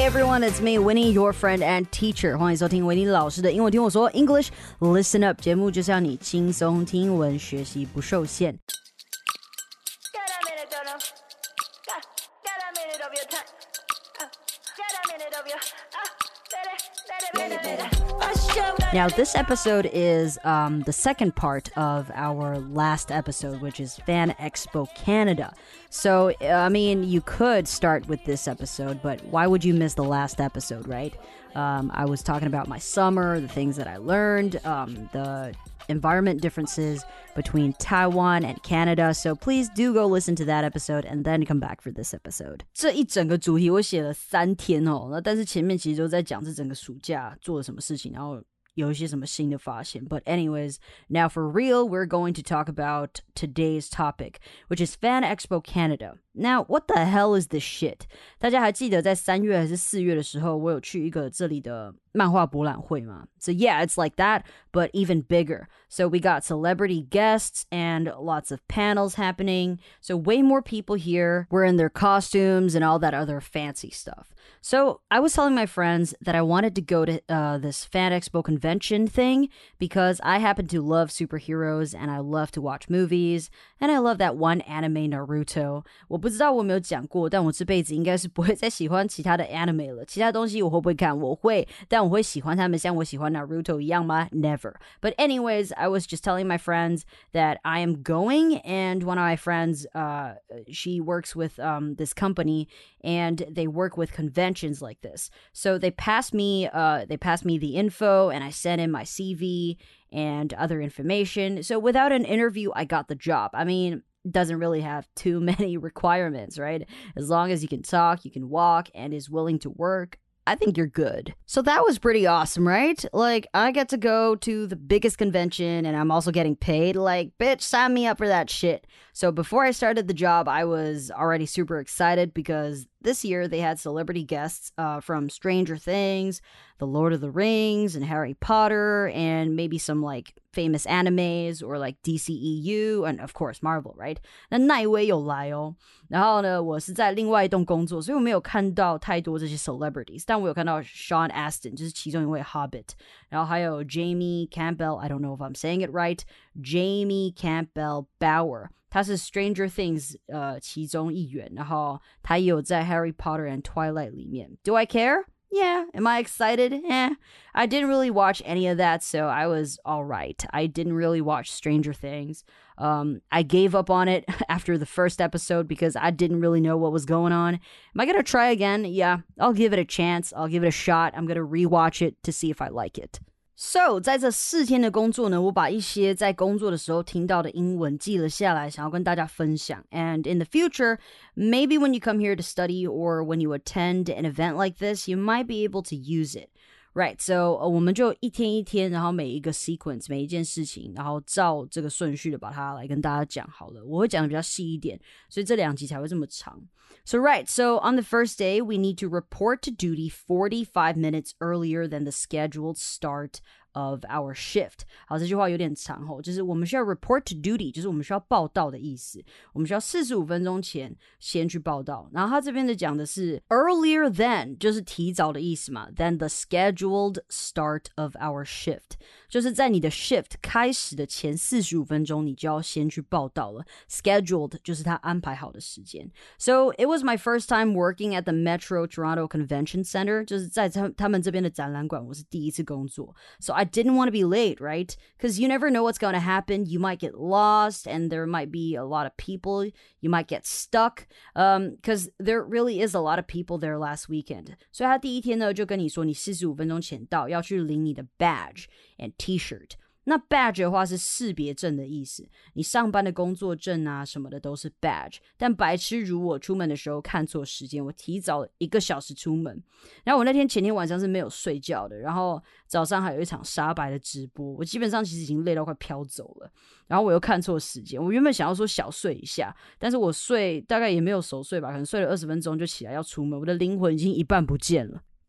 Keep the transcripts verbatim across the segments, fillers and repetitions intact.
Hey everyone, it's me, Winnie, your friend and teacher. 欢迎收听维尼老师的英文听我说 English Listen Up 节目就是要你轻松听英文，学习不受限。Now, this episode is um, the second part of our last episode, which is Fan Expo Canada. So, I mean, you could start with this episode, but why would you miss the last episode, right? Um, I was talking about my summer, the things that I learned, um, the environment differences between Taiwan and Canada. So please do go listen to that episode and then come back for this episode. 这一整个主题我写了三天哦，那但是前面其实都在讲这整个暑假做了什么事情，然后有一些什么新的发现。But anyways, now for real, we're going to talk about today's topic, which is Fan Expo Canada. Now, what the hell is this shit? 大家还记得在三月还是四月的时候，我有去一个这里的漫画博览会吗？ So yeah, it's like that, but even bigger. So we got celebrity guests and lots of panels happening. So way more people here were in their costumes and all that other fancy stuff. So I was telling my friends that I wanted to go to uh, this Fan Expo convention thing because I happen to love superheroes and I love to watch movies and I love that one anime Naruto. 我不知道我有没有讲过，但我这辈子应该是不会再喜欢其他的 anime 了。其他东西我会不会看？我会，但我会喜欢他们像我喜欢 Naruto 一样吗？ Never. But anyways, I was just telling my friends that I am going, and one of my friends, uh, she works with um, this company, and they work with conventions like this. So they passed me, uh, they passed me the info, and I sent in my C V and other information. So without an interview, I got the job. I mean, doesn't really have too many requirements, right? As long as you can talk, you can walk, and is willing to work, I think you're good. So that was pretty awesome, right? Like, I get to go to the biggest convention and I'm also getting paid. Like, bitch, sign me up for that shit. So before I started the job, I was already super excited because this year they had celebrity guests uh, from Stranger Things, The Lord of the Rings, and Harry Potter, and maybe some like famous animes or like D C E U, and of course Marvel, right? 那那一位有来哦。然后呢，我是在另外一栋工作，所以我没有看到太多这些 celebrities， 但我有看到 Sean Astin， 就是其中一位 Hobbit， 然后还有 Jamie Campbell， I don't know if I'm saying it right, Jamie Campbell Bower。他是 Stranger Things 呃其中一员，然后他也有在 Harry Potter and Twilight 里面。Do I care? Yeah. Am I excited? Eh. I didn't really watch any of that, so I was all right. I didn't really watch Stranger Things. Um, I gave up on it after the first episode because I didn't really know what was going on. Am I going to try again? Yeah, I'll give it a chance. I'll give it a shot. I'm going to rewatch it to see if I like it. So, 在这四天的工作呢，我把一些在工作的时候听到的英文记了下来，想要跟大家分享。And in the future, maybe when you come here to study or when you attend an event like this, you might be able to use it. Right, so、uh, 我们就一天一天，然后每一个 sequence， 每一件事情，然后照这个顺序的把它来跟大家讲好了。我会讲的比较细一点，所以这两集才会这么长。So right, so on the first day, we need to report to duty forty-five minutes earlier than the scheduled start of our shift. 好，这句话有点长吼，就是我们需要 report to duty， 就是我们需要报到的意思。我们需要四十五分钟前先去报到。然后他这边的讲的是 earlier than， 就是提早的意思嘛。Than the scheduled start of our shift， 就是在你的 shift 开始的前四十五分钟，你就要先去报到了。Scheduled 就是他安排好的时间。So it was my first time working at the Metro Toronto Convention Center， 就是在他他们这边的展览馆，我是第一次工作。So I didn't want to be late, right? Because you never know what's going to happen. You might get lost and there might be a lot of people. You might get stuck because um, there really is a lot of people there last weekend. 所以他第一天呢就跟你说你四十五分钟前到，要去领你的 badge and t-shirt。那 badge 的话是识别证的意思，你上班的工作证啊什么的都是 badge。但白痴如我出门的时候看错时间，我提早一个小时出门。然后我那天前天晚上是没有睡觉的，然后早上还有一场沙白的直播，我基本上其实已经累到快飘走了。然后我又看错时间，我原本想要说小睡一下，但是我睡大概也没有熟睡吧，可能睡了二十分钟就起来要出门，我的灵魂已经一半不见了。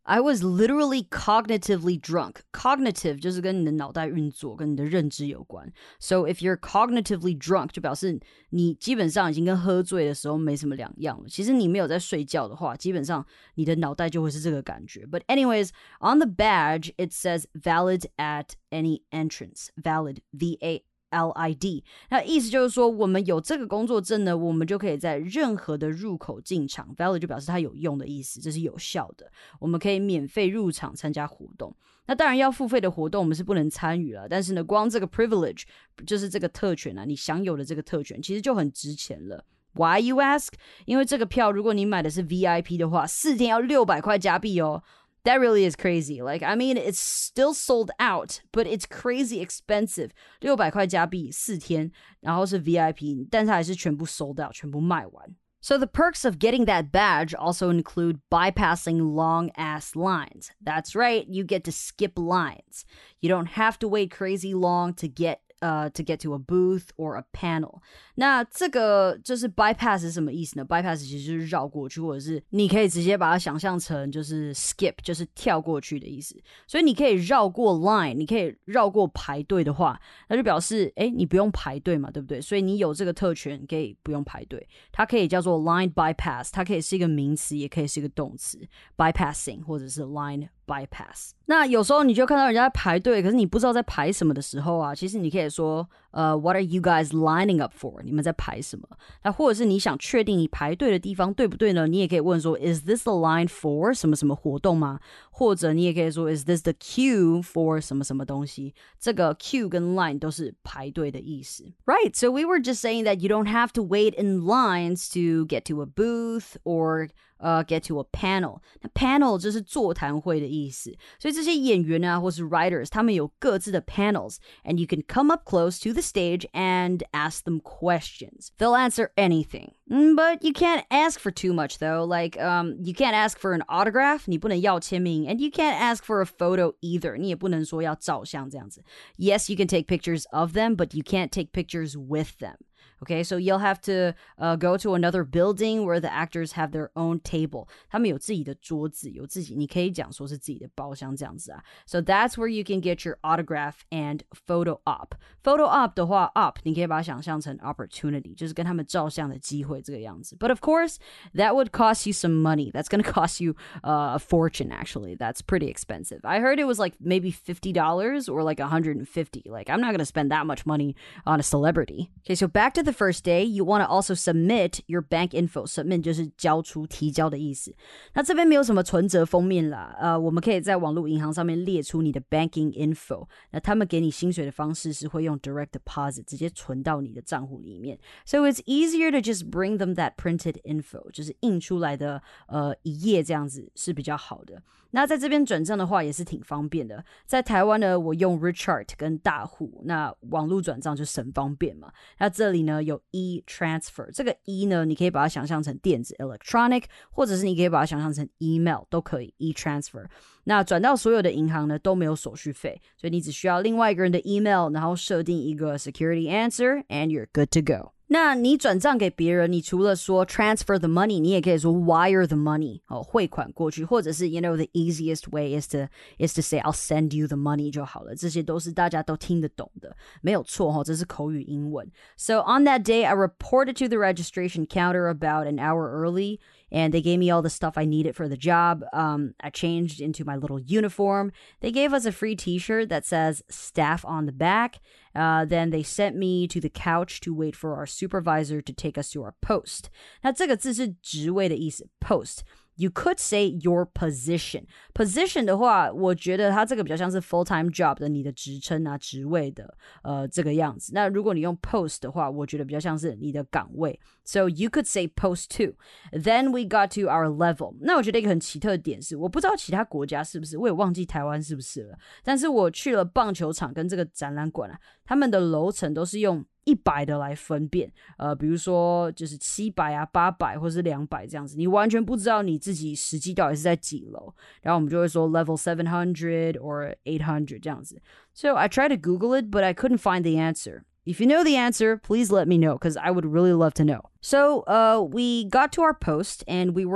I was literally cognitively drunk. Cognitive 就是跟你的脑袋运作跟你的认知有关。So if you're cognitively drunk 就表示你基本上已经跟喝醉的时候没什么两样了。其实你没有在睡觉的话，基本上你的脑袋就会是这个感觉。But anyways, on the badge it says valid at any entrance. Valid, V A L I D 那意思就是说我们有这个工作证呢，我们就可以在任何的入口进场。 Valid 就表示它有用的意思，这是有效的，我们可以免费入场参加活动。那当然要付费的活动我们是不能参与了，但是呢光这个 privilege 就是这个特权啊，你享有的这个特权其实就很值钱了。Why you ask? 因为这个票如果你买的是 V I P 的话，四天要六百块加币哦。That really is crazy. Like, I mean, it's still sold out, but it's crazy expensive. 六百块加币四天，然后是 V I P, 但是还是全部 sold out, 全部卖完。So the perks of getting that badge also include bypassing long-ass lines. That's right, you get to skip lines. You don't have to wait crazy long to get Uh, to get to a booth or a panel. 那这个就是 bypass 是什么意思呢？ bypass 其实就是绕过去，或者是你可以直接把它想象成就是 skip 就是跳过去的意思。所以你可以绕过 line， 你可以绕过排队的话，那就表示诶你不用排队嘛，对不对？所以你有这个特权可以不用排队。它可以叫做 line bypass， 它可以是一个名词也可以是一个动词 bypassing 或者是 line bypass。 那有时候你就看到人家在排队，可是你不知道在排什么的时候啊，其实你可以说呃、uh, What are you guys lining up for? 你们在排什么？那或者是你想确定你排队的地方对不对呢？你也可以问说 Is this the line for 什么什么活动吗？或者你也可以说 Is this the queue for 什么什么东西？这个 queue 跟 line 都是排队的意思。 Right, so we were just saying that you don't have to wait in lines to get to a booth or Uh, get to a panel. 那 panel 就是座谈会的意思，所以这些演员啊或是 writers 他们有各自的 panels, and you can come up close to the stage and ask them questions. They'll answer anything, but you can't ask for too much though. Like um, you can't ask for an autograph, 你不能要签名, and you can't ask for a photo either. 你也不能说要照相这样子。 Yes, you can take pictures of them, but you can't take pictures with them.Okay, so you'll have to uh, go to another building where the actors have their own table. 他们有自己的桌子，有自己，你可以讲说是自己的包厢这样子啊。So that's where you can get your autograph and photo op. Photo op 的话 op 你可以把它想象成 opportunity, 就是跟他们照相的机会这个样子。But of course, that would cost you some money. That's going to cost you uh, a fortune, actually. That's pretty expensive. I heard it was like maybe fifty dollars or like one hundred fifty dollars. Like, I'm not going to spend that much money on a celebrity. Okay, so back to the first day, you want to also submit your bank info. Submit 就是交出提交的意思。那这边没有什么存折封面啦，呃，我们可以在网络银行上面列出你的 banking info。那他们给你薪水的方式是会用 direct deposit 直接存到你的账户里面。So it's easier to just bring them that printed info， 就是印出来的呃一页这样子是比较好的。那在这边转账的话也是挺方便的。在台湾呢，我用 Richart 跟大户，那网络转账就省方便嘛。那这里呢有 e-transfer， 这个 e 呢你可以把它想象成电子 electronic， 或者是你可以把它想象成 email 都可以 e-transfer。那转到所有的银行呢都没有手续费，所以你只需要另外一个人的 email， 然后设定一个 security answer and you're good to go。那你转账给别人，你除了说 transfer the money， 你也可以说 wire the money， 哦，汇款过去，或者是 you know the easiest way is to is to say I'll send you the money 就好了，这些都是大家都听得懂的，没有错哦，这是口语英文。So on that day, I reported to the registration counter about an hour early, and they gave me all the stuff I needed for the job. Um, I changed into my little uniform. They gave us a free t-shirt that says staff on the back. Uh, then they sent me to the couch to wait for our supervisor to take us to our post. 那这个字是职位的意思 post。You could say your position. Position 的话，我觉得它这个比较像是 full-time job 的你的职称啊、职位的呃这个样子。那如果你用 post 的话，我觉得比较像是你的岗位。So you could say post two. Then we got to our level. 那我觉得一个很奇特的点是，我不知道其他国家是不是，我也忘记台湾是不是了。但是我去了棒球场跟这个展览馆啊，他们的楼层都是用一百的来分辨，呃，比如说就是七百啊、八百或是两百这样子，你完全不知道你自己实际到底是在几楼，然后我们就会说 level seven hundred or eight hundred 这样子。So I tried to Google it, but I couldn't find the answer. If you know the answer, please let me know, because I would really love to know. So uh, we got to our post, and we were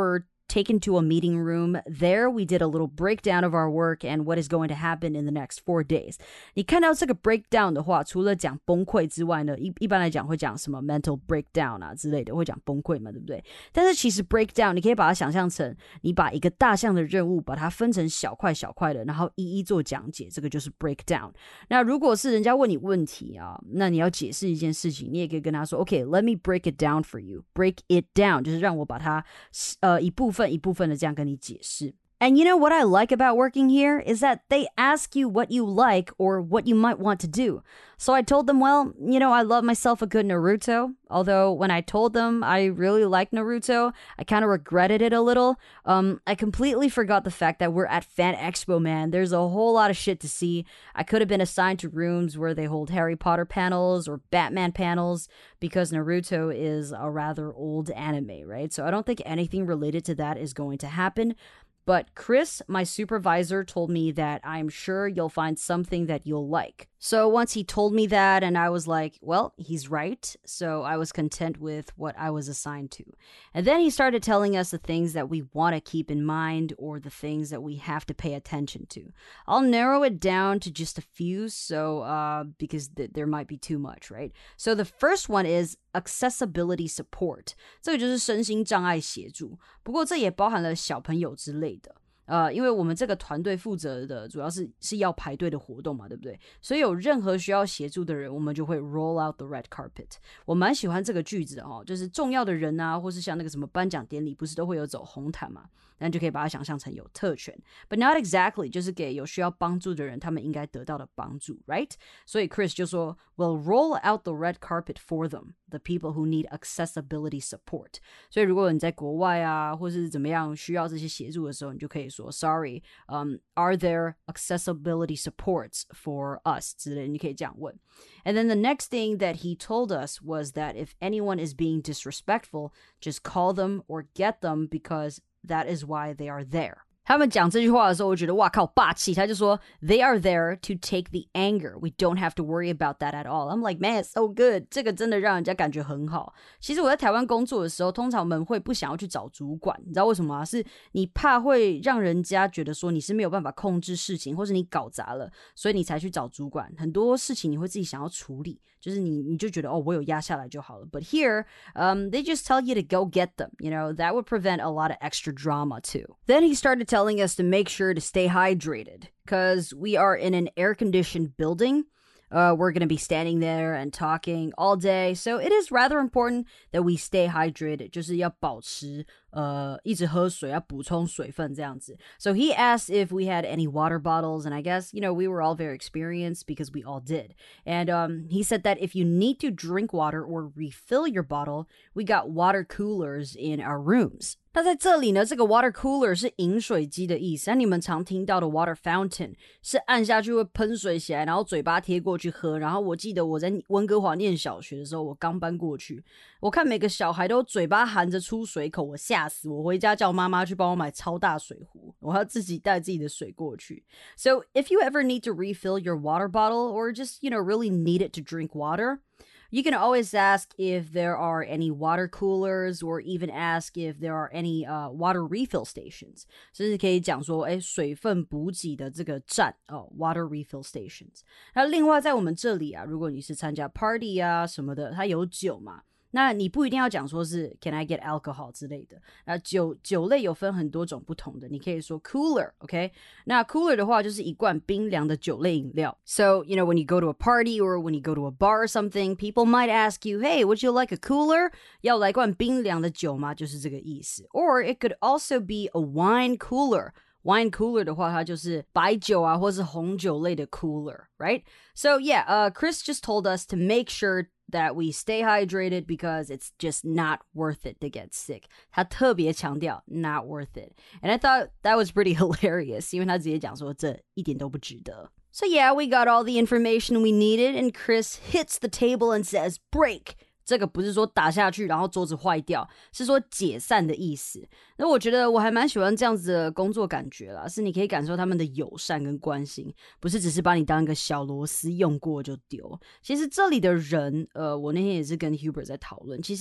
taken to a meeting room. There we did a little breakdown of our work and what is going to happen in the next four days. 你看到这个 breakdown 的话，除了讲崩溃之外呢，一一般来讲会讲什么 mental breakdown 啊之类的，会讲崩溃嘛，对不对？但是其实 breakdown 你可以把它想象成你把一个大项的任务把它分成小块小块的，然后一一做讲解，这个就是 breakdown。那如果是人家问你问题啊，那你要解释一件事情，你也可以跟他说 OK, let me break it down for you. Break it down 就是让我把它呃一部分一部分的这样跟你解释。And you know what I like about working here is that they ask you what you like or what you might want to do. So I told them, well, you know, I love myself a good Naruto. Although when I told them I really like Naruto, I kind of regretted it a little. Um, I completely forgot the fact that we're at Fan Expo, man. There's a whole lot of shit to see. I could have been assigned to rooms where they hold Harry Potter panels or Batman panels because Naruto is a rather old anime, right? So I don't think anything related to that is going to happen.But Chris, my supervisor, told me that I'm sure you'll find something that you'll like. So once he told me that, and I was like, well, he's right. So I was content with what I was assigned to. And then he started telling us the things that we want to keep in mind or the things that we have to pay attention to. I'll narrow it down to just a few, so uh, because th- there might be too much, right? So the first one is accessibility support. 这个就是身心障碍协助，不过这也包含了小朋友之类的。呃，因为我们这个团队负责的主要是是要排队的活动嘛，对不对？所以有任何需要协助的人，我们就会 roll out the red carpet。我蛮喜欢这个句子的哦，就是重要的人啊，或是像那个什么颁奖典礼，不是都会有走红毯嘛？那就可以把它想象成有特权 ，but not exactly， 就是给有需要帮助的人，他们应该得到的帮助 ，right？ 所以 Chris 就说 ，We'll roll out the red carpet for them, the people who need accessibility support。所以如果你在国外啊，或是怎么样需要这些协助的时候，你就可以说 Sorry, um, are there accessibility supports for us 之类的，你可以这样问。And then the next thing that he told us was that if anyone is being disrespectful, just call them or get them because that is why they are there. 他们讲这句话的时候，我觉得哇靠霸气，他就说 They are there to take the anger. We don't have to worry about that at all. I'm like, man, it's so good. 这个真的让人家感觉很好。其实我在台湾工作的时候，通常我们会不想要去找主管，你知道为什么吗？是你怕会让人家觉得说你是没有办法控制事情，或是你搞砸了，所以你才去找主管。很多事情你会自己想要处理，就是你你就觉得哦，我有压下来就好了。But here, um, they just tell you to go get them. You know, that would prevent a lot of extra drama too. Then he started telling us to make sure to stay hydrated because we are in an air-conditioned building. Uh, we're going to be standing there and talking all day. So it is rather important that we stay hydrated. 就是要保持呃一直喝水，要补充水分这样子。So he asked if we had any water bottles, and I guess, you know, we were all very experienced because we all did. And um, he said that if you need to drink water or refill your bottle, we got water coolers in our rooms. 那在这里呢，这个 water cooler 是饮水机的意思。那你们常听到的 water fountain 是按下去会喷水起来，然后嘴巴贴过去喝。然后我记得我在温哥华念小学的时候，我刚搬过去，我看每个小孩都嘴巴含着出水口，我吓死我，回家叫妈妈去帮我买超大水壶，我要自己带自己的水过去。So if you ever need to refill your water bottle or just, you know, really need it to drink water,You can always ask if there are any water coolers or even ask if there are any uh, water refill stations. 甚至可以讲说，哎，水分补给的这个站哦 water refill stations. 那另外在我们这里啊，如果你是参加 party 啊什么的，它有酒嘛。那你不一定要讲说是 Can I get alcohol 之类的。那酒酒类有分很多种不同的，你可以说 cooler, OK？ 那 cooler 的话就是一罐冰凉的酒类饮料。So, you know, when you go to a party or when you go to a bar or something, people might ask you, Hey, would you like a cooler? 要来罐冰凉的酒吗？就是这个意思。Or it could also be a wine cooler.Wine cooler 的话，它就是白酒啊，或是红酒类的 cooler, right? So yeah, uh, Chris just told us to make sure that we stay hydrated because it's just not worth it to get sick. 他特别强调 not worth it. And I thought that was pretty hilarious, 因为他直接讲说这一点都不值得。So yeah, we got all the information we needed, and Chris hits the table and says, break!这个不是说打下去然后桌子坏掉，是说解散的意思。那我觉得我还蛮喜欢这样子的工作感觉啦，是你可以感受他们的友善跟关心，不是只是把你当一个小螺丝用过就丢。其实这里的人，呃，我那天也是跟 Hubert 在讨论，其实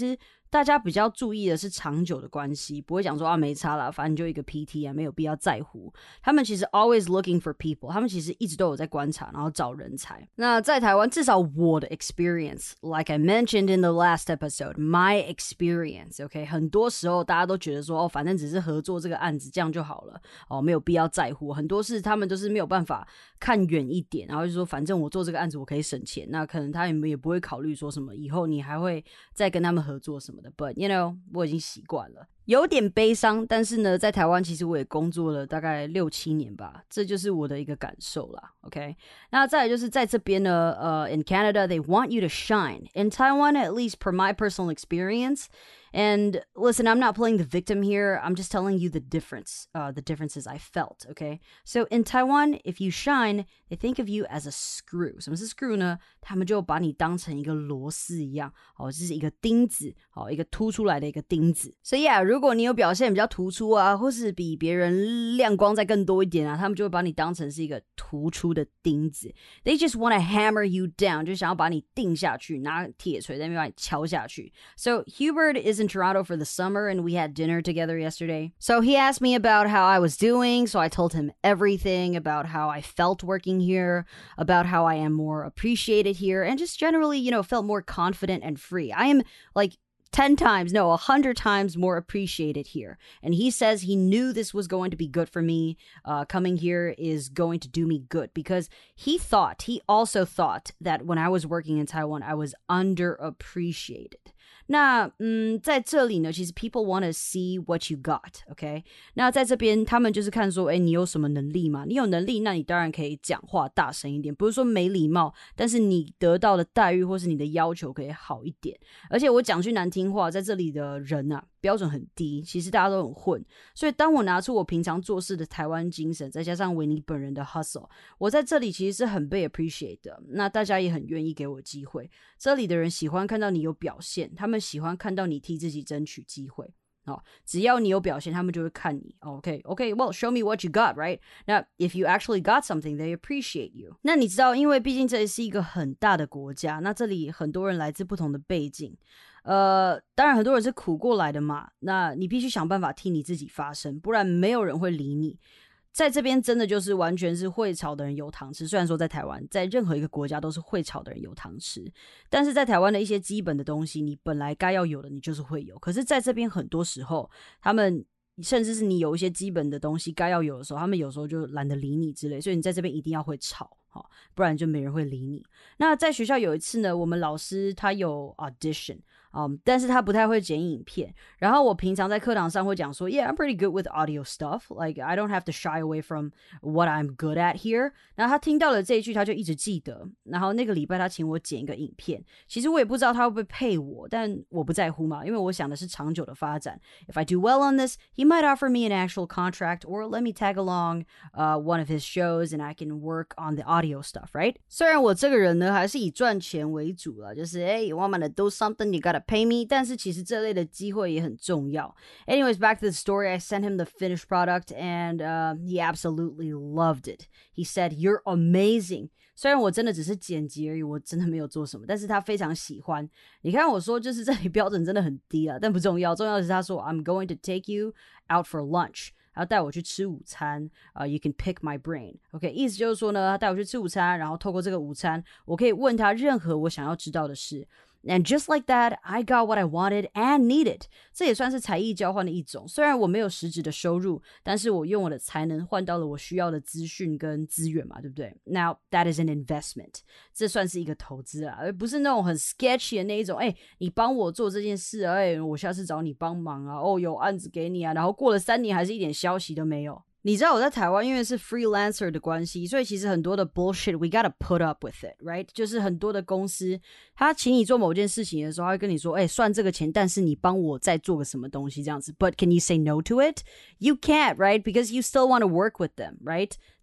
大家比较注意的是长久的关系，不会讲说啊没差啦，反正就一个 P T 啊，没有必要在乎。他们其实 always looking for people， 他们其实一直都有在观察，然后找人才。那在台湾，至少我的 experience, like I mentioned in the last episode, my experience, OK， 很多时候大家都觉得说哦，反正只是合作这个案子，这样就好了，哦，没有必要在乎。很多事他们都是没有办法看远一点，然后就说反正我做这个案子我可以省钱，那可能他们也不会考虑说什么以后你还会再跟他们合作什么的。But you know， 我已经习惯了。有点悲伤，但是呢，在台湾其实我也工作了大概六七年吧，这就是我的一个感受啦。OK， 那再来就是在这边呢，呃、uh, ，in Canada they want you to shine. In Taiwan, at least per my personal experience. And listen, I'm not playing the victim here. I'm just telling you the difference, uh, the differences I felt. Okay, so in Taiwan, if you shine, they think of you as a screw. 什么是 screw 呢？他们就把你当成一个螺丝一样，哦，就是一个钉子，哦，一个凸出来的一个钉子。所以啊，如果你有表现比较突出啊，或是比别人亮光再更多一点啊，他们就会把你当成是一个突出的钉子。They just want to hammer you down， 就想要把你钉下去，拿铁锤在那边把你敲下去。So Hubert is in Toronto for the summer and we had dinner together yesterday. So he asked me about how I was doing, so I told him everything about how I felt working here, about how I am more appreciated here, and just generally, you know, felt more confident and free. I am like ten times, no, a hundred times more appreciated here. And he says he knew this was going to be good for me. Uh, coming here is going to do me good because he thought, he also thought that when I was working in Taiwan, I was underappreciated. 那嗯，在这里呢，其实 people want to see what you got, OK？ 那在这边，他们就是看说，哎，你有什么能力嘛？你有能力，那你当然可以讲话大声一点，不是说没礼貌，但是你得到的待遇或是你的要求可以好一点。而且我讲句难听话，在这里的人啊，标准很低，其实大家都很混。所以当我拿出我平常做事的台湾精神，再加上维尼本人的 hustle， 我在这里其实是很被 appreciate 的。那大家也很愿意给我机会。这里的人喜欢看到你有表现，他们喜欢看到你替自己争取机会。哦，只要你有表现，他们就会看你。OK, OK, well, show me what you got, right? 那 if you actually got something, they appreciate you. 那你知道，因为毕竟这里是一个很大的国家，那这里很多人来自不同的背景。呃，当然很多人是苦过来的嘛，那你必须想办法替你自己发声，不然没有人会理你。在这边真的就是完全是会炒的人有糖吃，虽然说在台湾，在任何一个国家都是会炒的人有糖吃，但是在台湾的一些基本的东西，你本来该要有的，你就是会有。可是在这边很多时候，他们甚至是你有一些基本的东西该要有的时候，他们有时候就懒得理你之类，所以你在这边一定要会炒，不然就没人会理你。那在学校有一次呢，我们老师他有 audition。Um, 但是他不太会剪影片，然后我平常在课堂上会讲说 Yeah, I'm pretty good with audio stuff. Like, I don't have to shy away from what I'm good at here. 然后他听到了这一句，他就一直记得。然后那个礼拜他请我剪一个影片，其实我也不知道他会不会配我，但我不在乎嘛，因为我想的是长久的发展。If I do well on this, he might offer me an actual contract or let me tag along uh, one of his shows and I can work on the audio stuff, right? 虽然我这个人呢还是以赚钱为主啦，就是 Hey, you want me to do something, you gotta pay me, 但是其实这类的机会也很重要。Anyways, back to the story, I sent him the finished product and uh, he absolutely loved it. He said, You're amazing. 虽然我真的只是剪辑而已，我真的没有做什么，但是他非常喜欢。你看我说就是这里标准真的很低啊，但不重要，重要的是他说 I'm going to take you out for lunch.然后带我去吃午餐、uh, You can pick my brain. OK, 意思就是说呢，他带我去吃午餐，然后透过这个午餐，我可以问他任何我想要知道的事。And just like that, I got what I wanted and needed. 这也算是才艺交换的一种。虽然我没有实质的收入，但是我用我的才能换到了我需要的资讯跟资源嘛，对不对？ Now, that is an investment. 这算是一个投资啊，而不是那种很 sketchy 的那一种。哎，你帮我做这件事，哎，我下次找你帮忙啊。哦，有案子给你啊，然后过了三年还是一点消息都没有。你知道我在台湾因为是 freelancer 的关系，所以其实很多的 bullshit we gotta put up with it, right? 就是很多的公司他请你做某件事情的时候，他会跟你说，哎，算这个钱，但是你帮我再做个什么东西这样子。But can you say no to it? You can't, right? Because you still want to work with them, right?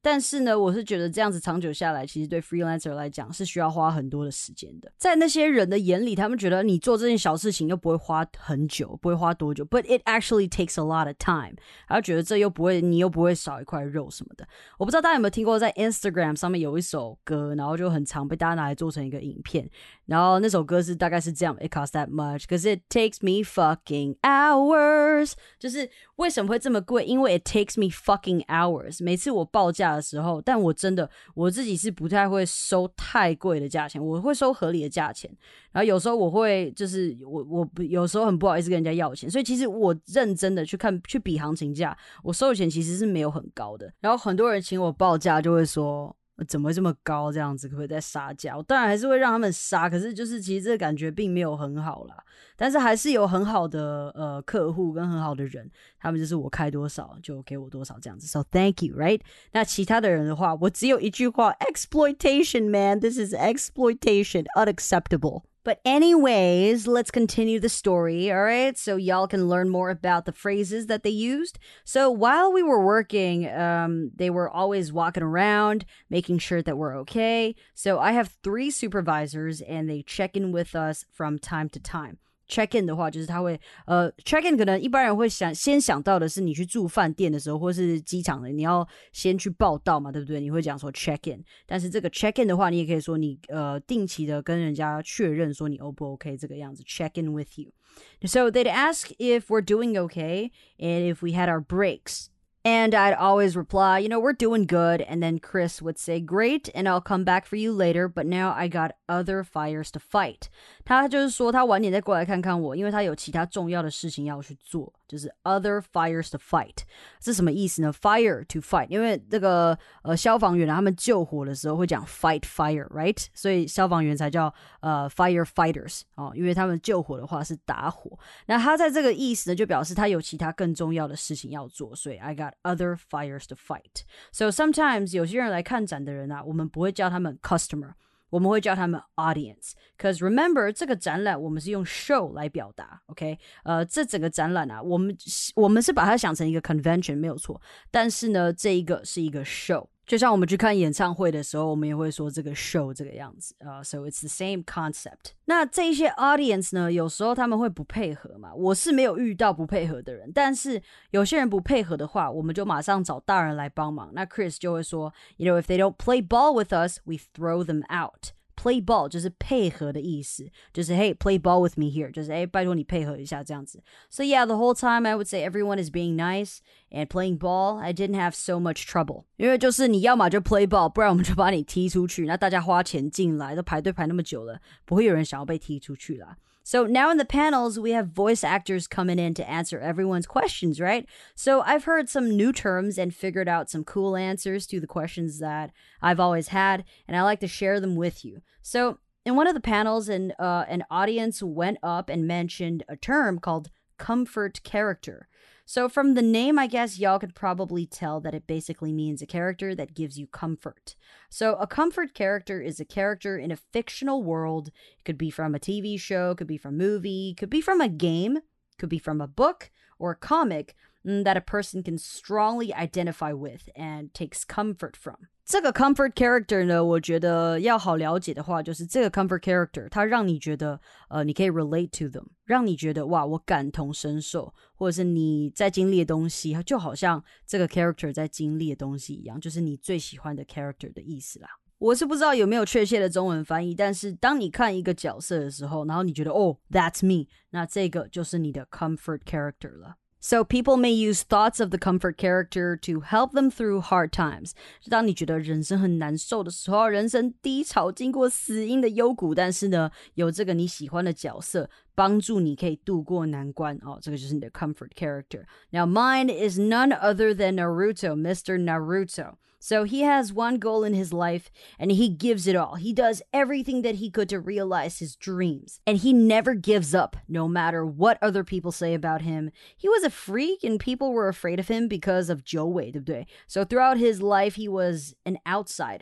但是呢，我是觉得这样子长久下来，其实对 freelancer 来讲是需要花很多的时间的。在那些人的眼里，他们觉得你做这件小事情又不会花很久，不会花多久 ，but it actually takes a lot of time。然后觉得这又不会，你又不会少一块肉什么的。我不知道大家有没有听过，在 Instagram 上面有一首歌，然后就很常被大家拿来做成一个影片。然后那首歌是大概是这样 ，It costs that much because it takes me fucking hours。就是为什么会这么贵？因为 it takes me fucking hours。每次我报价的时候，但我真的我自己是不太会收太贵的价钱，我会收合理的价钱。然后有时候我会就是我我有时候很不好意思跟人家要钱，所以其实我认真的去看去比行情价，我收的钱其实是没有很高的。然后很多人请我报价就会说。怎么会这么高？这样子可不可以再杀价？我当然还是会让他们杀，可是就是其实这个感觉并没有很好啦。但是还是有很好的呃客户跟很好的人，他们就是我开多少就给我多少这样子。So thank you, right? 那其他的人的话，我只有一句话 ：exploitation, man. This is exploitation, unacceptable.But anyways, let's continue the story, all right? So y'all can learn more about the phrases that they used. So while we were working, um, they were always walking around, making sure that we're okay. So I have three supervisors, and they check in with us from time to time.Check in 的话就是他会呃 check in 可能一般人会想先想到的是你去住饭店的时候或是机场的你要先去报到嘛对不对你会讲说 check in 但是这个 check in 的话你也可以说你呃定期的跟人家确认说你 O 不 OK 这个样子 check in with you so they'd ask if we're doing okay and if we had our breaks.And I'd always reply, you know, we're doing good. And then Chris would say, great, and I'll come back for you later. But now I got other fires to fight. 他就是说他晚点再过来看看我，因为他有其他重要的事情要去做，就是 other fires to fight. 这什么意思呢 ？Fire to fight， 因为这个呃消防员啊，他们救火的时候会讲 fight fire, right？ 所以消防员才叫呃 firefighters 哦，因为他们救火的话是打火。那他在这个意思呢，就表示他有其他更重要的事情要做，所以 I got other fires to fight. So sometimes 有些人来看展的人啊，我们不会叫他们 customer， 我们会叫他们 audience. Because remember 这个展览我们是用 show 来表达 OK 呃，这整个展览啊我们我们是把它想成一个 convention 没有错，但是呢这一个是一个 show，就像我们去看演唱会的时候我们也会说这个 show 这个样子、uh, So it's the same concept。 那这些 audience 呢有时候他们会不配合嘛，我是没有遇到不配合的人，但是有些人不配合的话我们就马上找大人来帮忙，那 Chris 就会说 You know if they don't play ball with us we throw them out。Play ball 就是配合的意思，就是 Hey play ball with me here 就是哎拜托你配合一下这样子。 So yeah the whole time I would say everyone is being nice and playing ball I didn't have so much trouble， 因为就是你要嘛就 play ball 不然我们就把你踢出去，那大家花钱进来都排队排那么久了不会有人想要被踢出去啦。So now in the panels, we have voice actors coming in to answer everyone's questions, right? So I've heard some new terms and figured out some cool answers to the questions that I've always had, and I like to share them with you. So in one of the panels, an, uh, an audience went up and mentioned a term called comfort character.So from the name, I guess y'all could probably tell that it basically means a character that gives you comfort. So a comfort character is a character in a fictional world. It could be from a T V show, could be from a movie, could be from a game, could be from a book or a comic that a person can strongly identify with and takes comfort from.这个 comfort character 呢我觉得要好了解的话就是这个 comfort character 它让你觉得呃你可以 relate to them， 让你觉得哇我感同身受，或者是你在经历的东西就好像这个 character 在经历的东西一样，就是你最喜欢的 character 的意思啦。我是不知道有没有确切的中文翻译，但是当你看一个角色的时候，然后你觉得哦 that's me， 那这个就是你的 comfort character 了。So people may use thoughts of the comfort character to help them through hard times. 就当你觉得人生很难受的时候，人生低潮，经过死荫的幽谷，但是呢，有这个你喜欢的角色帮助你可以度过难关哦，这个就是你的 comfort character. Now mine is none other than Naruto, Mister Naruto.So he has one goal in his life and he gives it all. He does everything that he could to realize his dreams. And he never gives up, no matter what other people say about him. He was a freak and people were afraid of him because of 九尾，对不对？ So throughout his life, he was an outsider.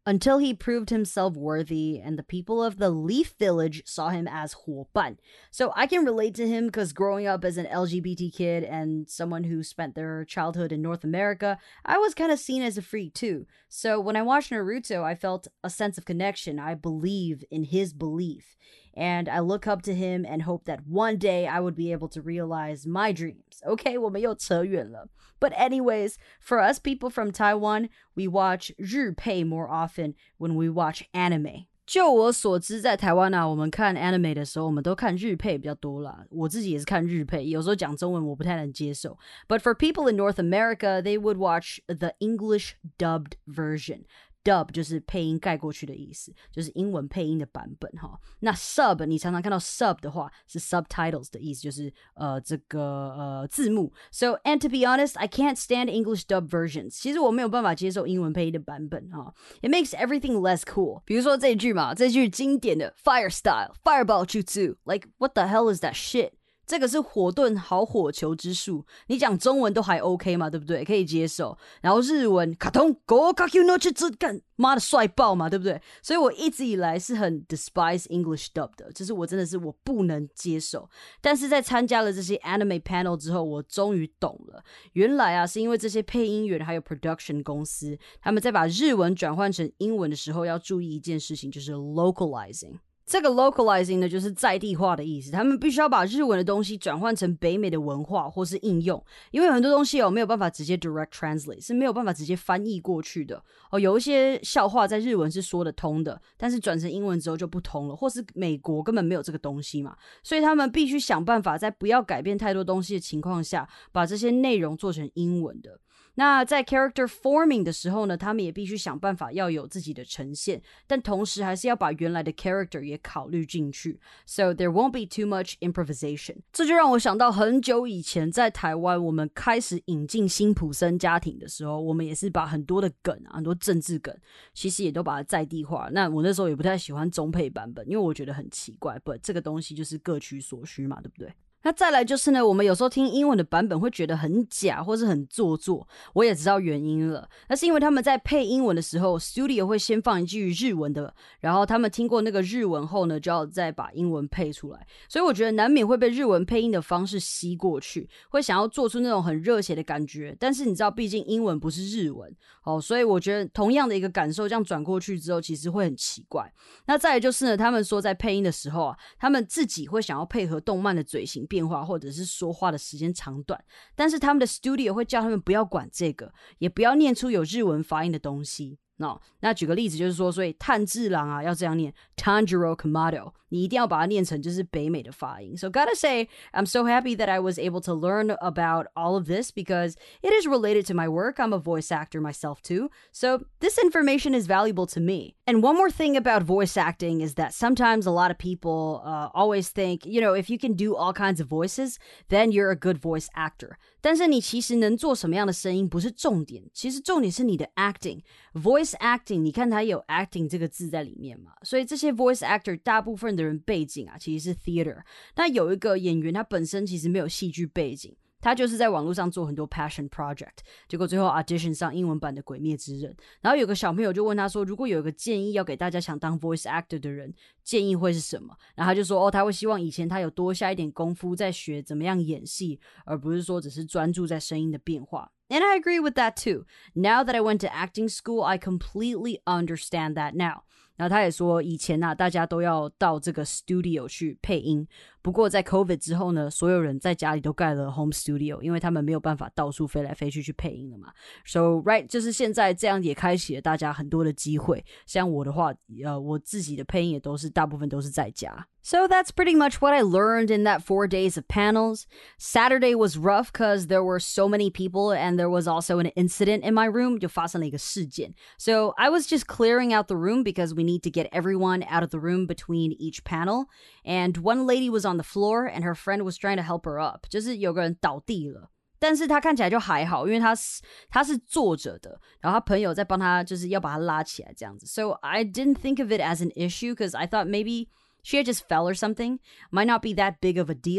until he proved himself worthy and the people of the Leaf Village saw him as 伙伴. So I can relate to him because growing up as an L G B T kid and someone who spent their childhood in North America, I was kind of seen as a freak too. So when I watched Naruto, I felt a sense of connection. I believe in his belief. And I look up to him and hope that one day I would be able to realize my dreams. Okay, 我们又扯远了. But anyways, for us people from Taiwan, we watch 日配 more often when we watch anime. 就我所知，在台湾啊，我们看 anime 的时候，我们都看日配比较多啦。我自己也是看日配，有时候讲中文我不太能接受。But for people in North America, they would watch the English dubbed version.Dub 就是配音盖过去的意思，就是英文配音的版本哈。那 sub 你常常看到 sub 的话是 subtitles 的意思，就是呃这个呃字幕。So and to be honest, I can't stand English dub versions. 其实我没有办法接受英文配音的版本哈。It makes everything less cool. 比如说这一句嘛，这句经典的 fire style fireball jutsu, like what the hell is that shit?这个是火遁好火球之术，你讲中文都还 OK 嘛，对不对？可以接受。然后日文卡通 Go Kaku no Chitsu 干妈的帅爆嘛，对不对？所以我一直以来是很 despise English dub 的，就是我真的是我不能接受。但是在参加了这些 anime panel 之后，我终于懂了，原来啊是因为这些配音员还有 production 公司，他们在把日文转换成英文的时候要注意一件事情，就是 localizing。这个 localizing 呢，就是在地化的意思。他们必须要把日文的东西转换成北美的文化或是应用，因为很多东西哦没有办法直接 direct translate， 是没有办法直接翻译过去的哦。有一些笑话在日文是说得通的，但是转成英文之后就不通了，或是美国根本没有这个东西嘛，所以他们必须想办法在不要改变太多东西的情况下，把这些内容做成英文的。那在 character forming 的时候呢，他们也必须想办法要有自己的呈现，但同时还是要把原来的 character 也考虑进去。So there won't be too much improvisation. 这就让我想到很久以前在台湾，我们开始引进辛普森家庭的时候，我们也是把很多的梗啊，很多政治梗，其实也都把它在地化。那我那时候也不太喜欢中配版本，因为我觉得很奇怪。But 这个东西就是各取所需嘛，对不对？那再来就是呢，我们有时候听英文的版本会觉得很假或是很做作，我也知道原因了。那是因为他们在配英文的时候 studio 会先放一句日文的，然后他们听过那个日文后呢，就要再把英文配出来。所以我觉得难免会被日文配音的方式吸过去，会想要做出那种很热血的感觉。但是你知道，毕竟英文不是日文哦，所以我觉得同样的一个感受，这样转过去之后，其实会很奇怪。那再来就是呢，他们说在配音的时候啊，他们自己会想要配合动漫的嘴型变化，或者是说话的时间长短，但是他们的 studio 会叫他们不要管这个，也不要念出有日文发音的东西。No, 那举个例子就是说，所以炭治郎啊要这样念 Tanjiro Kamado， 你一定要把它念成就是北美的发音。So gotta say, I'm so happy that I was able to learn about all of this because it is related to my work. I'm a voice actor myself too. So this information is valuable to me. And one more thing about voice acting is that sometimes a lot of people uh, always think, you know, if you can do all kinds of voices, then you're a good voice actor. 但是你其实能做什么样的声音不是重点，其实重点是你的 acting。Voice acting 你看它有 acting 这个字在里面嘛，所以这些 voice actor 大部分的人背景啊其实是 theater。 那有一个演员他本身其实没有戏剧背景，他就是在网络上做很多 passion project， 结果最后 audition 上英文版的鬼灭之刃。然后有个小朋友就问他说，如果有一个建议要给大家想当 voice actor 的人，建议会是什么？然后他就说哦，他会希望以前他有多下一点功夫在学怎么样演戏，而不是说只是专注在声音的变化。And I agree with that too. Now that I went to acting school, I completely understand that now. 然后他也说以前啊大家都要到这个 studio 去配音，不过在 COVID 之后呢，所有人在家里都盖了 home studio， 因为他们没有办法到处飞来飞去去配音了嘛。So right 就是现在这样也开启了大家很多的机会，像我的话呃，我自己的配音也都是大部分都是在家。So that's pretty much what I learned in that four days of panels. Saturday was rough because there were so many people and there was also an incident in my room. 就发生了一个事件。So I was just clearing out the room because we need to get everyone out of the room between each panel. And one lady was on the floor and her friend was trying to help her up. 就是有个人倒地了。但是他看起来就还好，因为他是他是坐着的，然后他朋友在帮他就是要把他拉起来这样子。So I didn't think of it as an issue because I thought maybe she had just fell or something. Might not be that big of a deal.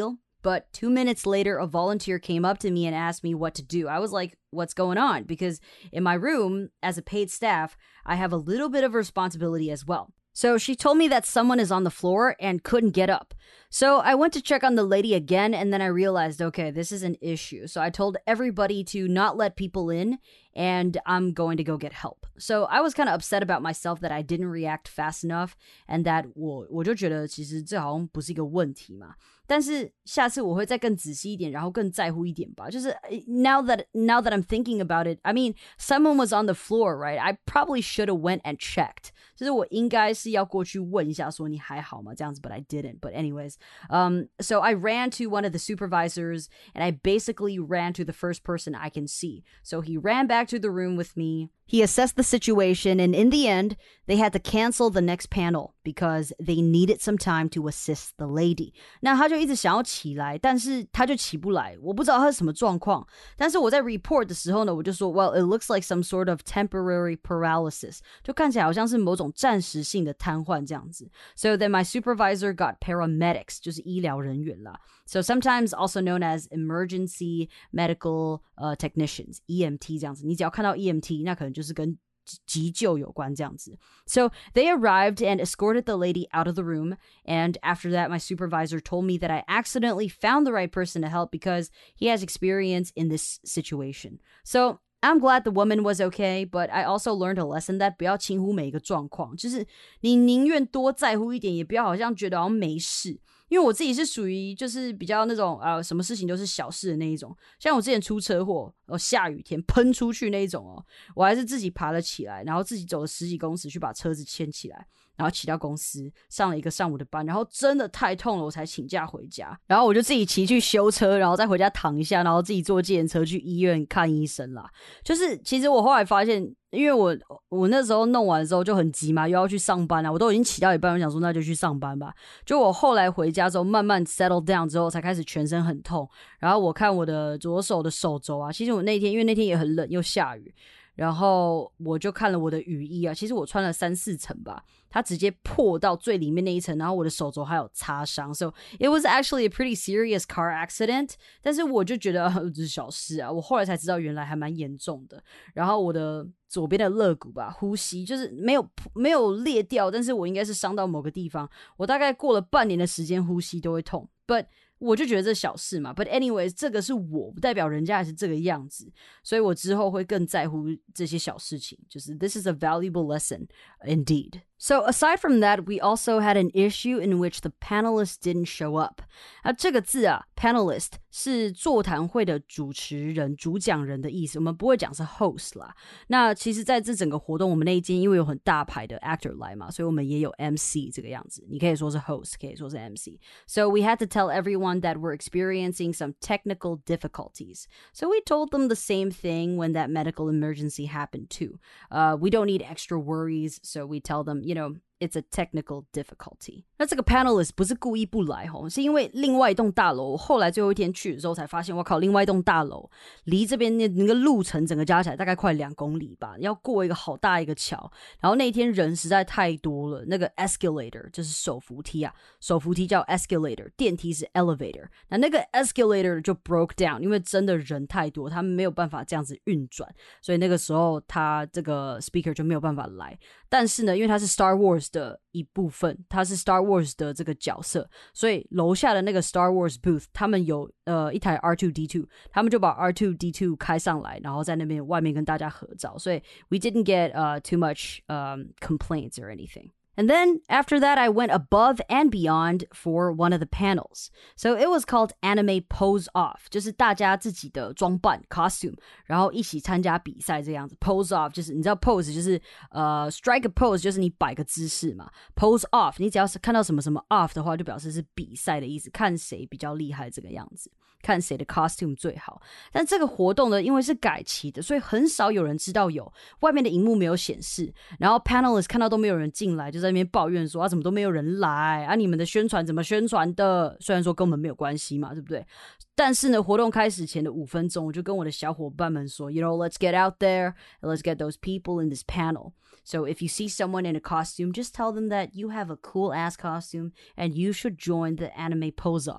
But two minutes later, a volunteer came up to me and asked me what to do. I was like, what's going on? Because in my room, as a paid staff, I have a little bit of responsibility as well. So she told me that someone is on the floor and couldn't get up. So I went to check on the lady again, and then I realized, okay, this is an issue. So I told everybody to not let people in, and I'm going to go get help. So I was kind of upset about myself that I didn't react fast enough, and that 我我就觉得其实这好像不是一个问题嘛。但是下次我会再更仔细一点，然后更在乎一点吧。就是 now that now that I'm thinking about it, I mean, someone was on the floor, right? I probably should have went and checked. 就是我应该是要过去问一下说你还好吗这样子 but I didn't. But anyways, um, so I ran to one of the supervisors and I basically ran to the first person I can see. So he ran back to the room with me. He assessed the situation, and in the end, they had to cancel the next panel because they needed some time to assist the lady. 那他就一直想要起来，但是他就起不来，我不知道他是什么状况。但是我在 report 的时候呢，我就说 ，Well, it looks like some sort of temporary paralysis， 就看起来好像是某种暂时性的瘫痪这样子。So then my supervisor got paramedics， 就是医疗人员啦。So sometimes also known as emergency medical uh, technicians, E M T 这样子。你只要看到 E M T， 那可能就是跟急救有关这样子。So they arrived and escorted the lady out of the room. And after that, my supervisor told me that I accidentally found the right person to help because he has experience in this situation. So I'm glad the woman was okay, but I also learned a lesson that 不要轻忽每一个状况，就是你宁愿多在乎一点，也不要好像觉得好像没事。因为我自己是属于就是比较那种呃什么事情都是小事的那一种，像我之前出车祸，哦下雨天喷出去那一种哦，我还是自己爬了起来，然后自己走了十几公尺去把车子牵起来，然后骑到公司上了一个上午的班，然后真的太痛了，我才请假回家，然后我就自己骑去修车，然后再回家躺一下，然后自己坐计程车去医院看医生啦。就是其实我后来发现。因为我我那时候弄完之后就很急嘛，又要去上班啊，我都已经骑到一半，我想说那就去上班吧。就我后来回家之后，慢慢 settle down 之后，才开始全身很痛。然后我看我的左手的手肘啊，其实我那天因为那天也很冷又下雨，然后我就看了我的雨衣啊，其实我穿了三四层吧，它直接破到最里面那一层，然后我的手肘还有擦伤。So it was actually a pretty serious car accident. 但是我就觉得这是小事啊，我后来才知道原来还蛮严重的。然后我的左边的肋骨吧，呼吸就是没有没有裂掉，但是我应该是伤到某个地方。我大概过了半年的时间，呼吸都会痛。But 我就觉得这小事嘛 ，But anyways， 这个是我，不代表人家也是这个样子，所以我之后会更在乎这些小事情。就是 This is a valuable lesson indeed. So aside from that, we also had an issue in which the panelists didn't show up. 啊，这个字啊 ，panelist 是座谈会的主持人、主讲人的意思，我们不会讲是 host 啦。那其实在这整个活动，我们那一间因为有很大牌的 actor 来嘛，所以我们也有 M C 这个样子。你可以说是 host， 可以说是 M C. So we had to tell everyone that we're experiencing some technical difficulties. So we told them the same thing when that medical emergency happened too. Uh, we don't need extra worries, so we tell them, you know, it's a technical difficulty. 那这个 panelist 不是故意不来吼，是因为另外一栋大楼，我后来最后一天去的时候才发现，我靠，另外一栋大楼离这边那那个路程整个加起来大概快两公里吧，要过一个好大一个桥。然后那一天人实在太多了，那个 escalator 就是手扶梯啊，手扶梯叫 escalator， 电梯是 elevator。那那个 escalator 就 broke down， 因为真的人太多，他们没有办法这样子运转，所以那个时候他这个 speaker 就没有办法来。但是呢，因为他是 Star Wars 的一部分，他是 Star Wars 的这个角色，所以楼下的那个 Star Wars booth 他们有呃一台 R two D two， 他们就把 R two D two 开上来，然后在那边外面跟大家合照，所以 we didn't get uh, too much um, complaints or anything.And then after that, I went above and beyond for one of the panels. So it was called Anime Pose Off, 就是大家自己的装扮 costume, 然后一起参加比赛这样子。Pose Off 就是你知道 pose 就是呃 strike a pose 就是你摆个姿势嘛。Pose Off 你只要是看到什么什么 off 的话，就表示是比赛的意思，看谁比较厉害这个样子。看谁的 costume 最好，但这个活动呢，因为是改期的，所以很少有人知道有，外面的荧幕没有显示，然后 panelists 看到都没有人进来，就在那边抱怨说啊，怎么都没有人来啊，你们的宣传怎么宣传的？虽然说跟我们没有关系嘛，对不对？但是呢，活动开始前的五分钟，我就跟我的小伙伴们说 ，You know, let's get out there and let's get those people in this panel. So if you see someone in a costume, just tell them that you have a cool ass costume and you should join the anime pose off.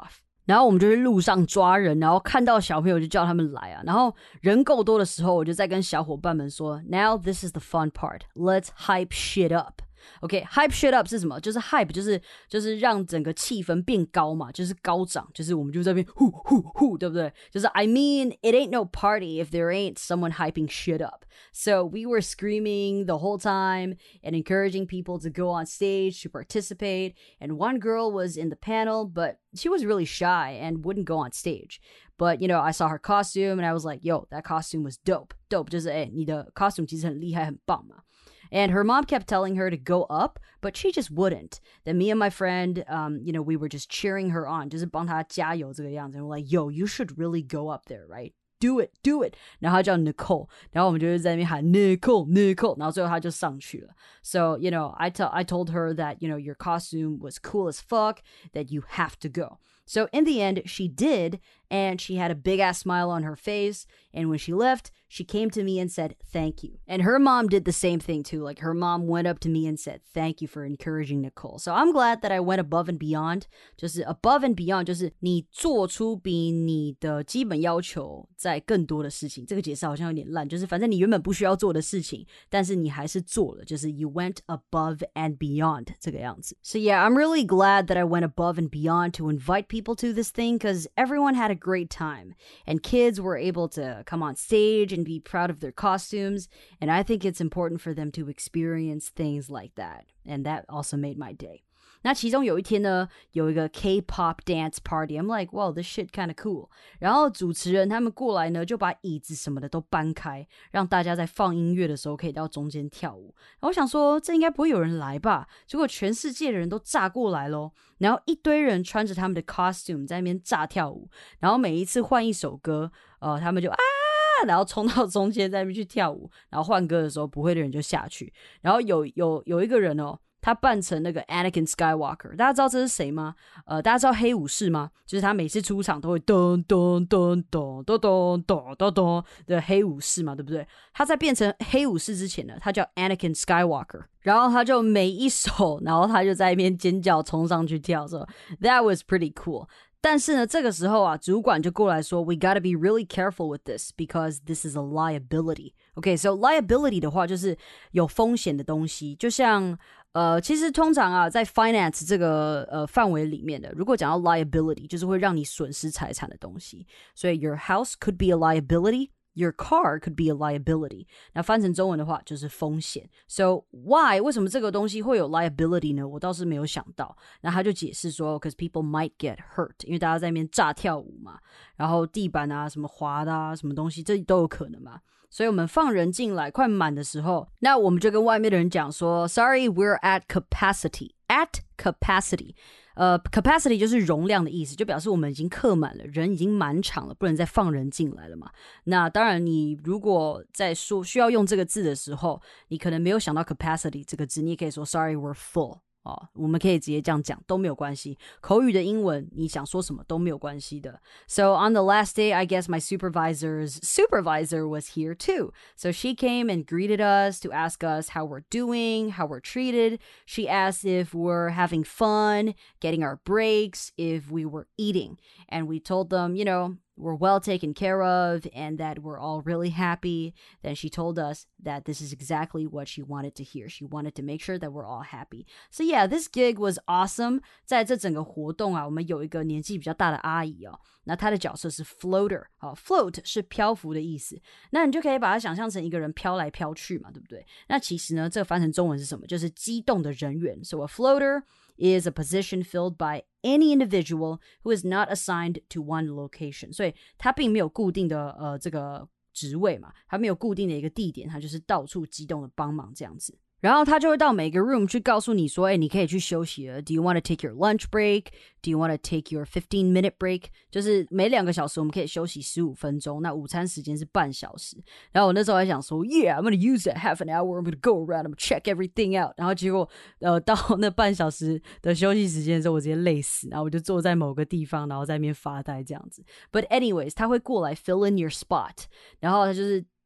然后我们就去路上抓人，然后看到小朋友就叫他们来啊，然后人够多的时候，我就在跟小伙伴们说 Now this is the fun part, let's hype shit up。OK, hype shit up 是什么？就是 hype 就是就是让整个气氛变高嘛，就是高涨，就是我们就在那边呼呼呼，对不对？就是 I mean it ain't no party if there ain't someone hyping shit up. So we were screaming the whole time and encouraging people to go on stage to participate. And one girl was in the panel, but she was really shy and wouldn't go on stage. But, you know, I saw her costume and I was like, yo, that costume was dope. Dope 就是哎，你的 costume 其实很厉害，很棒嘛。And her mom kept telling her to go up, but she just wouldn't. Then me and my friend, um, you know, we were just cheering her on, 就是帮她加油这个样子。And we're like, yo, you should really go up there, right? Do it, do it. 然后她叫 Nicole, 然后我们就是在那边喊 Nicole, Nicole, 然后最后她就上去了。So, you know, I, t- I told her that, you know, your costume was cool as fuck, that you have to go. So in the end, she did, and she had a big-ass smile on her face, and when she left, she came to me and said, thank you. And her mom did the same thing too. Like, her mom went up to me and said, thank you for encouraging Nicole. So I'm glad that I went above and beyond. 就是 above and beyond 就是你做出比你的基本要求在更多的事情。这个解释好像有点烂，就是反正你原本不需要做的事情，但是你还是做了，就是 you went above and beyond 这个样子。So yeah, I'm really glad that I went above and beyond to invite people to this thing because everyone had a great time and kids were able to come on stage and be proud of their costumes, and I think it's important for them to experience things like that, and that also made my day. 那其中有一天呢，有一个 K-pop dance party. I'm like, wow, this shit kind of cool. 然后主持人他们过来呢，就把椅子什么的都搬开，让大家在放音乐的时候可以到中间跳舞。然后我想说，这应该不会有人来吧？结果全世界的人都炸过来咯，然后一堆人穿着他们的 costume 在那边炸跳舞。然后每一次换一首歌，呃，他们就啊，然后冲到中间在那边去跳舞。然后换歌的时候，不会的人就下去。然后有有有一个人哦。他扮成那个 Anakin Skywalker， 大家知道这是谁吗？呃，大家知道黑武士吗？就是他每次出场都会咚咚咚咚咚咚咚咚咚的黑武士嘛，对不对？他在变成黑武士之前呢，他叫 Anakin Skywalker， 然后他就每一首，然后他就在一边尖叫冲上去跳，说 That was pretty cool。但是呢，这个时候啊，主管就过来说 We gotta be really careful with this because this is a liability. Okay, so liability 的话就是有风险的东西，就像呃，其实通常啊，在 finance 这个呃范围里面的，如果讲到 liability， 就是会让你损失财产的东西。所以 your house could be a liability.Your car could be a liability. 那翻成中文的话就是风险。So why 为什么这个东西会有 liability 呢？我倒是没有想到。那他就解释说 because people might get hurt， 因为大家在那边炸跳舞嘛，然后地板啊什么滑的啊什么东西，这都有可能嘛。所以我们放人进来快满的时候，那我们就跟外面的人讲说 Sorry, we're at capacity. At capacity.呃 capacity 就是容量的意思，就表示我们已经客满了，人已经满场了，不能再放人进来了嘛。那当然你如果在说需要用这个字的时候，你可能没有想到 capacity 这个字，你也可以说 sorry we're full。哦，我们可以直接这样讲都没有关系，口语的英文你想说什么都没有关系的。So on the last day, I guess my supervisor's supervisor was here too. So she came and greeted us to ask us how we're doing, how we're treated. She asked if we're having fun, getting our breaks, if we were eating. And we told them, you know, we're well taken care of and that we're all really happy. Then she told us that this is exactly what she wanted to hear. She wanted to make sure that we're all happy. So yeah, this gig was awesome. 在这整个活动啊，我们有一个年纪比较大的阿姨哦，那她的角色是 floater。好 float 是漂浮的意思，那你就可以把它想象成一个人飘来飘去嘛，对不对？那其实呢，这个翻成中文是什么？就是机动的人员。So a floater is a position filled by any individual who is not assigned to one location. 所以它并没有固定的呃这个职位嘛，它没有固定的一个地点，它就是到处机动的帮忙这样子。然后他就会到每个 room 去告诉你说，哎，你可以去休息了。Do you want to take your lunch break? Do you want to take your fifteen minute break? 就是每两个小时我们可以休息十五分钟，那午餐时间是半小时。然后我那时候还想说 Yeah, I'm going to use that half an hour. I'm going to go around. I'm going to check everything out. 然后结果呃到那半小时的休息时间的时候，我直接累死，然后我就坐在某个地方，然后在那边发呆这样子。But anyways, 他会过来 fill in your spot. 然后他就是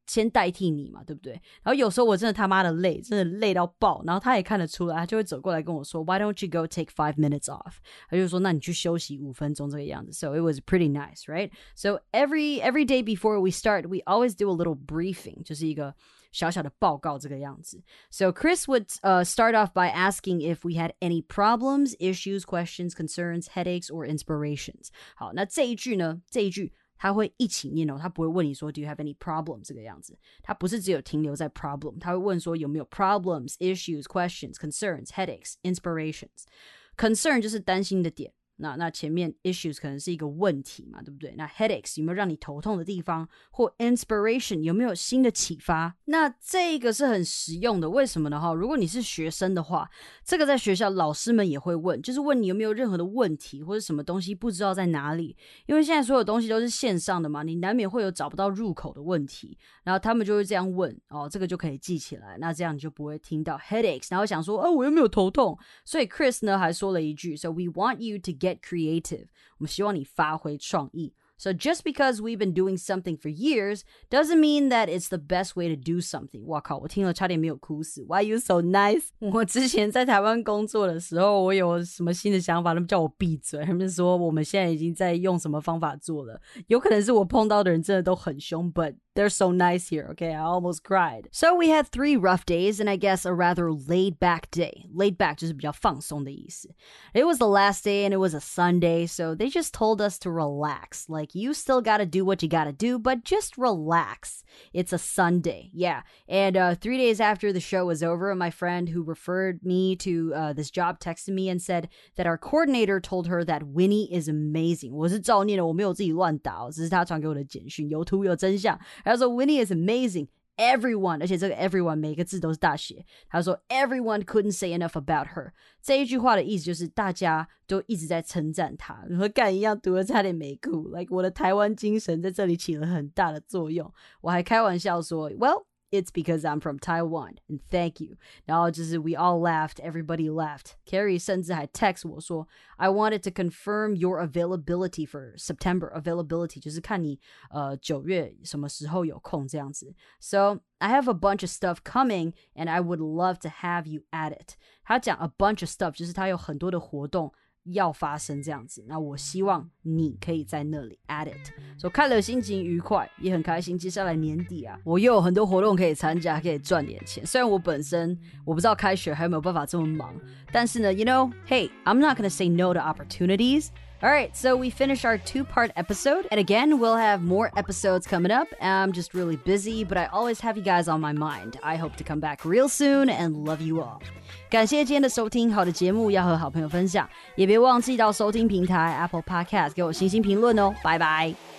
先代替你嘛，对不对？然后有时候我真的他妈的累，真的累到爆，然后他也看得出来，他就会走过来跟我说 Why don't you go take five minutes off? 他就说那你去休息五分钟这个样子。 So it was pretty nice, right? So every, every day before we start, we always do a little briefing, 就是一个小小的报告这个样子。 So Chris would uh, start off by asking if we had any problems, issues, questions, concerns, headaches, or inspirations. 好，那这一句呢，这一句他会一起念哦，他不会问你说 Do you have any problems 这个样子，他不是只有停留在 problem， 他会问说有没有 problems, issues, questions, concerns, headaches, inspirations. Concern 就是担心的点，那那前面 issues 可能是一个问题嘛，对不对？那 headaches 有没有让你头痛的地方，或 inspiration 有没有新的启发？那这个是很实用的，为什么呢？如果你是学生的话，这个在学校老师们也会问，就是问你有没有任何的问题，或者什么东西不知道在哪里。因为现在所有东西都是线上的嘛，你难免会有找不到入口的问题，然后他们就会这样问哦，这个就可以记起来，那这样你就不会听到 headaches， 然后想说哦，我又没有头痛。所以 Chris 呢还说了一句 So we want you to get creative， 我们希望你发挥创意。So just because we've been doing something for years doesn't mean that it's the best way to do something. 哇靠，我听了差点没有哭死。Why you so nice? 我之前在台湾工作的时候，我有什么新的想法，他们叫我闭嘴，他们说我们现在已经在用什么方法做了。有可能是我碰到的人真的都很凶 but they're so nice here, okay? I almost cried. So we had three rough days and I guess a rather laid back day. Laid back 就是比较放松的意思。It was the last day and it was a Sunday, so they just told us to relax. Like, you still gotta do what you gotta do, but just relax. It's a Sunday, yeah. And uh, three days after the show was over, my friend who referred me to uh, this job texted me and said that our coordinator told her that Winnie is amazing. 我是照念的，我没有自己乱打，只是他传给我的简讯，有图有真相。他说 Winnie is amazing. Everyone, 而且这个 everyone 每个字都是大写。他说 everyone couldn't say enough about her. 这一句话的意思就是大家都一直在称赞她。和干一样读了差点没哭。Like 我的台湾精神在这里起了很大的作用。我还开玩笑说 Well, it's because I'm from Taiwan and thank you. 然后就是 we all laughed, everybody laughed. Carrie 甚至还 text 我说 I wanted to confirm your availability for September. Availability 就是看你呃九月什么时候有空这样子。So I have a bunch of stuff coming and I would love to have you at it. 他讲 a bunch of stuff 就是他有很多的活动要发生这样子，那我希望你可以在那里 at it。 So 看了心情愉快，也很开心。接下来年底啊，我又有很多活动可以参加，可以赚点钱。虽然我本身我不知道开学还有没有办法这么忙，但是呢 you know, hey, I'm not gonna say no to opportunities. Alright, so we finished our two-part episode, and again, we'll have more episodes coming up. I'm just really busy, but I always have you guys on my mind. I hope to come back real soon and love you all. 感谢今天的收听，好的节目要和好朋友分享，也别忘记到收听平台 Apple Podcast 给我星星评论哦，拜拜。